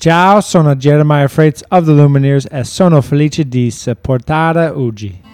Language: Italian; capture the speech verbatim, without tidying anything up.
Ciao, sono Jeremiah Freitas of the Lumineers e sono felice di supportare oggi.